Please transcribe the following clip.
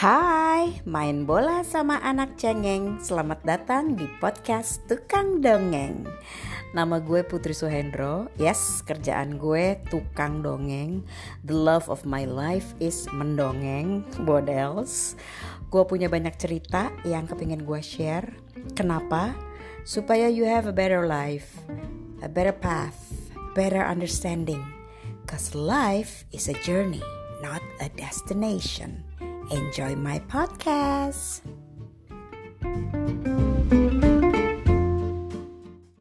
Hai, main bola sama anak cengeng. Selamat datang di podcast Tukang Dongeng. Nama gue Putri Suhendro. Yes, kerjaan gue tukang dongeng. The love of my life is mendongeng. Bodels. Gue punya banyak cerita yang kepingin gue share. Kenapa? Supaya you have a better life, a better path, better understanding. Cause life is a journey, not a destination. Enjoy my podcast.